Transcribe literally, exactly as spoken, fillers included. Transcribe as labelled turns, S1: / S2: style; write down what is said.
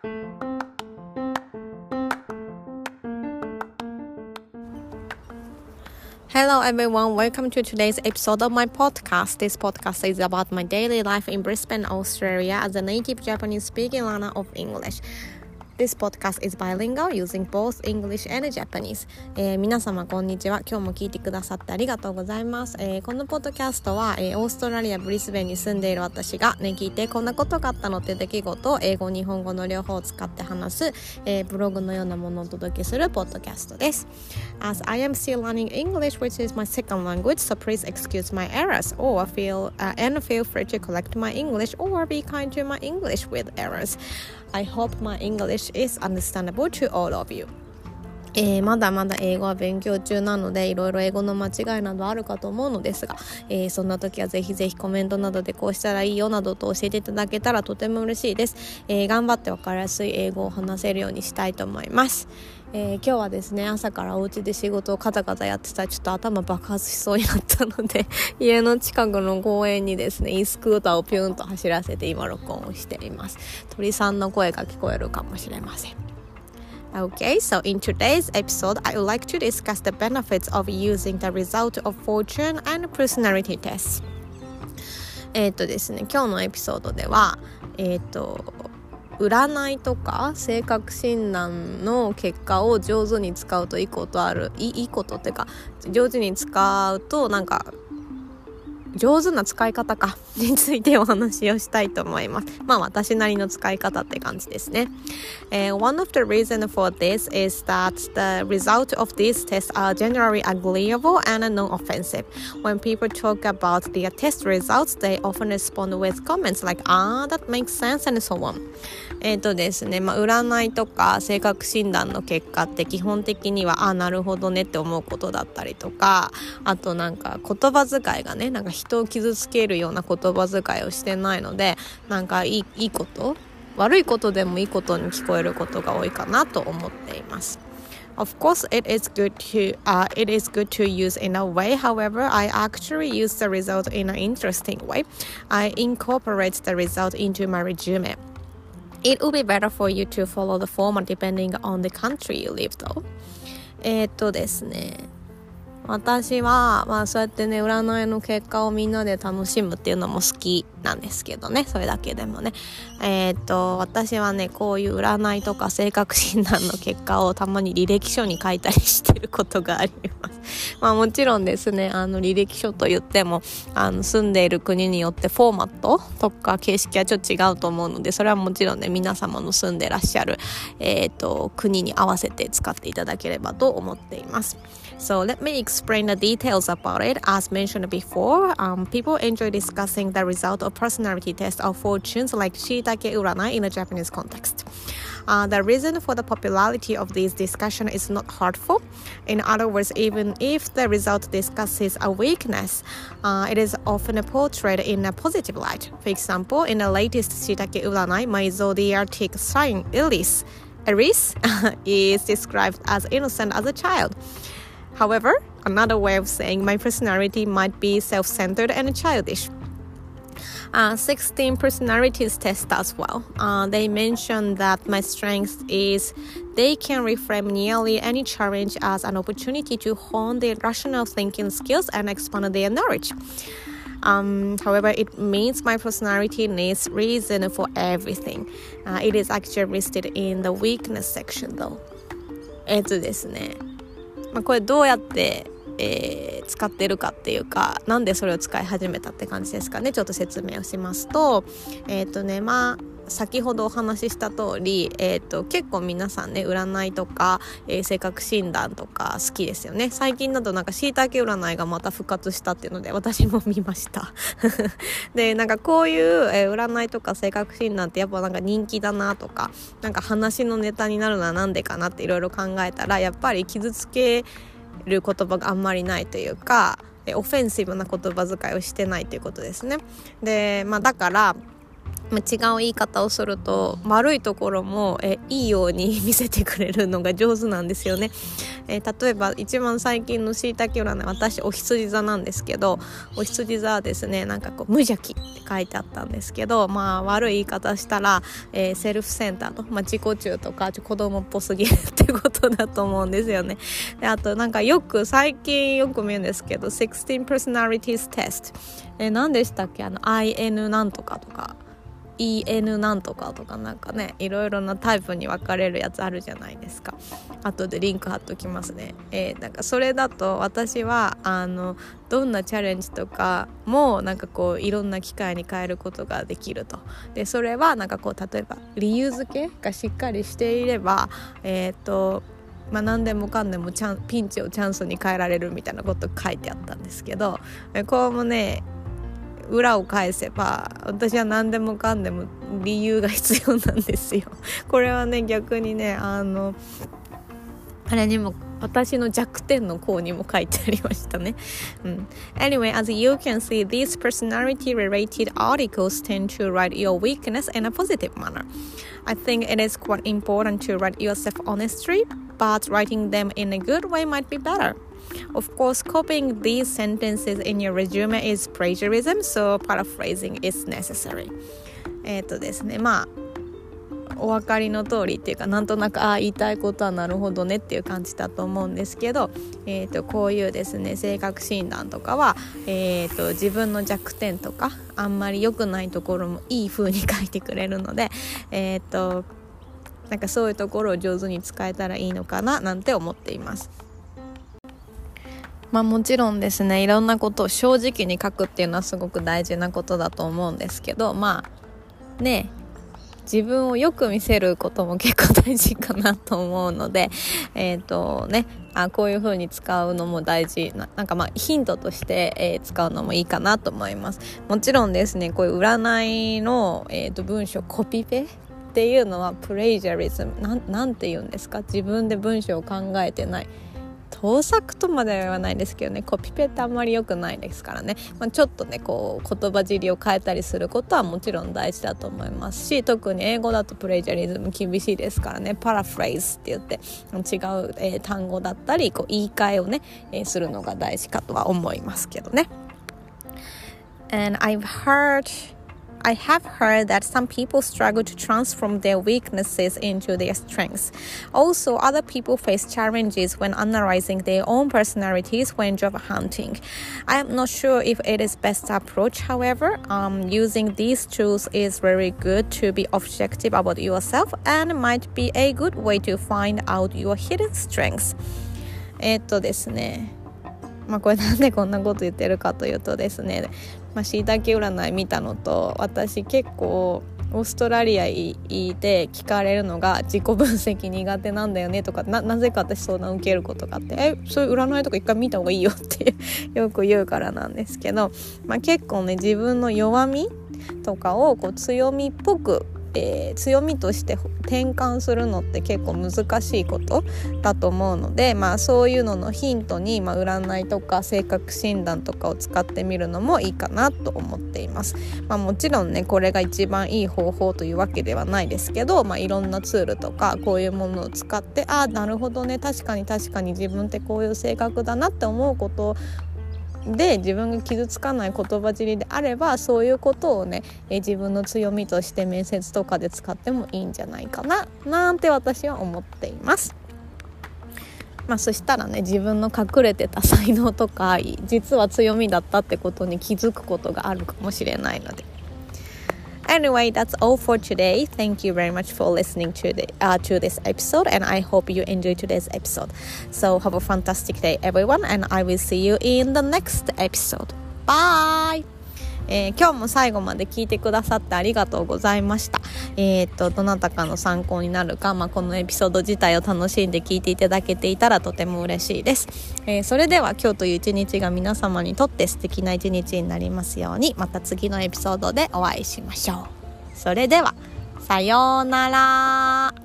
S1: Hello everyone, welcome to today's episode of my podcast. This podcast is about my daily life in Brisbane, Australia as a native Japanese speaking learner of English.This podcast is bilingual using both English and Japanese、えー、皆様こんにちは。今日も聞いてくださってありがとうございます、えー、このポッドキャストは、えー、オーストラリアブリスベンに住んでいる私がね聞いてこんなことがあったのって出来事を英語日本語の両方を使って話す、えー、ブログのようなものをお届けするポッドキャストです。 As I am still learning English, which is my second language, so please excuse my errors or feel、uh, and feel free to correct my English or be kind to my English with errors.I hope my English is understandable to all of you、えー、まだまだ英語は勉強中なのでいろいろ英語の間違いなどあるかと思うのですが、えー、そんな時はぜひぜひコメントなどでこうしたらいいよなどと教えていただけたらとても嬉しいです、えー、頑張って分かりやすい英語を話せるようにしたいと思います。えー、今日はですね朝からお家で仕事をカタカタやってたらちょっと頭爆発しそうになったので家の近くの公園にですねイスクーターをピュンと走らせて今録音をしています。鳥さんの声が聞こえるかもしれません。 Okay, so in today's episode I would like to discuss the benefits of using the result of fortune and personality tests。 えっとですね今日のエピソードではえっと占いとか性格診断の結果を上手に使うといいことあるいいことっていうか上手に使うとなんか上手な使い方かについてお話をしたいと思います。まあ私なりの使い方って感じですね。Uh, one of the reasons for this is that the results of these tests are generally agreeable and non-offensive. When people talk about their test results, they often respond with comments like, ah, that makes sense and so on. えっとですね、まあ占いとか性格診断の結果って基本的にはあなるほどねって思うことだったりとか、あとなんか言葉遣いがねなんか人を傷つけるような言葉遣いをしてないのでなんかいい、いいこと悪いことでもいいことに聞こえることが多いかなと思っています。Of course, it is good to uh, it is good to use in a way. However, I actually use the result in an interesting way. I incorporate the result into my resume. It would be better for you to follow the format depending on the country you live, though. えーっとですね私は、まあ、そうやってね占いの結果をみんなで楽しむっていうのも好きなんですけどねそれだけでもねえー、っと私はねこういう占いとか性格診断の結果をたまに履歴書に書いたりしてることがありますまあもちろんですねあの履歴書と言ってもあの住んでいる国によってフォーマットとか形式はちょっと違うと思うのでそれはもちろんね皆様の住んでらっしゃる、えー、っと国に合わせて使っていただければと思っています。So let me explain the details about it. As mentioned before, um, people enjoy discussing the result of personality tests or fortunes like Shiitake Uranai in a Japanese context. Uh, the reason for the popularity of this discussion is not hurtful. In other words, even if the result discusses a weakness, uh, it is often portrayed in a positive light. For example, in the latest Shiitake Uranai, my zodiac sign Aries, Aries is described as innocent as a child.However, another way of saying my personality might be self-centered and childish. Uh, sixteen personalities test as well. Uh, they mention that my strength is they can reframe nearly any challenge as an opportunity to hone their rational thinking skills and expand their knowledge. Um, however, it means my personality needs reason for everything. Uh, it is actually listed in the weakness section though. えっとですねまあ、これどうやって、えー、使ってるかっていうかなんでそれを使い始めたって感じですかね。ちょっと説明をしますとえっとねまあ先ほどお話しした通り、えー、と結構皆さんね占いとか、えー、性格診断とか好きですよね。最近だとなんか椎茸占いがまた復活したっていうので私も見ましたでなんかこういう、えー、占いとか性格診断ってやっぱなんか人気だなとかなんか話のネタになるのはなんでかなっていろいろ考えたらやっぱり傷つける言葉があんまりないというかオフェンシブな言葉遣いをしてないということですね。で、まあ、だから違う言い方をすると悪いところもえいいように見せてくれるのが上手なんですよね。えー、例えば一番最近のしいたけ占い、私お羊座なんですけど、お羊座はですね、なんかこう無邪気って書いてあったんですけど、まあ悪い言い方したら、えー、セルフセンターと、まあ、自己中とか子供っぽすぎるってことだと思うんですよね。であとなんかよく最近よく見るんですけど、じゅうろく personalities test、えー、何でしたっけ、あの アイエヌ なんとかとかイーエヌ なんとかとか、なんかねいろいろなタイプに分かれるやつあるじゃないですか。後でリンク貼っときますね。えー、なんかそれだと私はあのどんなチャレンジとかもなんかこういろんな機会に変えることができると。でそれはなんかこう例えば理由付けがしっかりしていれば、えー、っとまあ、何でもかんでもチャンピンチをチャンスに変えられるみたいなこと書いてあったんですけど、これもね裏を返せば私は何でもかんでも理由が必要なんですよ。これはね逆にねあのあれにも私の弱点の項にも書いてありましたね、うん、Anyway, as you can see, these personality related articles tend to write your weakness in a positive manner. I think it is quite important to write yourself honestly, but writing them in a good way might be better.Of course, copying these sentences in your resume is plagiarism, so paraphrasing is necessary. えっとですね、まあお分かりの通りっていうか、なんとなくああ言いたいことはなるほどねっていう感じだと思うんですけど、えー、とこういうですね性格診断とかは、えー、と自分の弱点とかあんまり良くないところもいい風に書いてくれるので、えー、となんかそういうところを上手に使えたらいいのかななんて思っています。まあもちろんですね、いろんなことを正直に書くっていうのはすごく大事なことだと思うんですけど、まあね自分をよく見せることも結構大事かなと思うので、えっとねあこういう風に使うのも大事な、なんかまあヒントとして、えー、使うのもいいかなと思います。もちろんですね、こういう占いの、えー、と文章コピペっていうのはプレイジャリズム、なん、なんて言うんですか、自分で文章を考えてない、盗作とまでは言わないですけどね、コピペってあんまり良くないですからね、まあ、ちょっとねこう言葉尻を変えたりすることはもちろん大事だと思いますし、特に英語だとプレイジャリズム厳しいですからね、パラフレーズって言って違う、えー、単語だったりこう言い換えをね、えー、するのが大事かとは思いますけどね。 And I've heard I have heard that some people struggle to transform their weaknesses into their strengths. Also, other people face challenges when analyzing their own personalities when job hunting. I am not sure if it is best approach, however. Um, using these tools is very good to be objective about yourself and might be a good way to find out your hidden strengths. えっとですね、まあこれなんでこんなこと言ってるかというとですね、まあ、しいたけ占い見たのと、私結構オーストラリアいて聞かれるのが自己分析苦手なんだよねとか、 な, なぜか私相談受けることがあって、えそういう占いとか一回見た方がいいよってよく言うからなんですけど、まあ、結構ね自分の弱みとかをこう強みっぽくえー、強みとして転換するのって結構難しいことだと思うので、まあ、そういうののヒントに、まあ、占いとか性格診断とかを使ってみるのもいいかなと思っています。まあ、もちろんねこれが一番いい方法というわけではないですけど、まあ、いろんなツールとかこういうものを使って、ああなるほどね、確かに確かに自分ってこういう性格だなって思うことで自分が傷つかない言葉尻であれば、そういうことをねえ自分の強みとして面接とかで使ってもいいんじゃないかななんて私は思っています。まあ、そしたらね自分の隠れてた才能とか実は強みだったってことに気づくことがあるかもしれないので。Anyway, that's all for today. Thank you very much for listening to the uh, to this episode, and I hope you enjoyed today's episode. So have a fantastic day, everyone, and I will see you in the next episode. Bye! えー、今日も最後まで聞いてくださってありがとうございました。えー、っとどなたかの参考になるか、まあ、このエピソード自体を楽しんで聞いていただけていたらとても嬉しいです。えー、それでは今日という一日が皆様にとって素敵な一日になりますように、また次のエピソードでお会いしましょう。それではさようなら。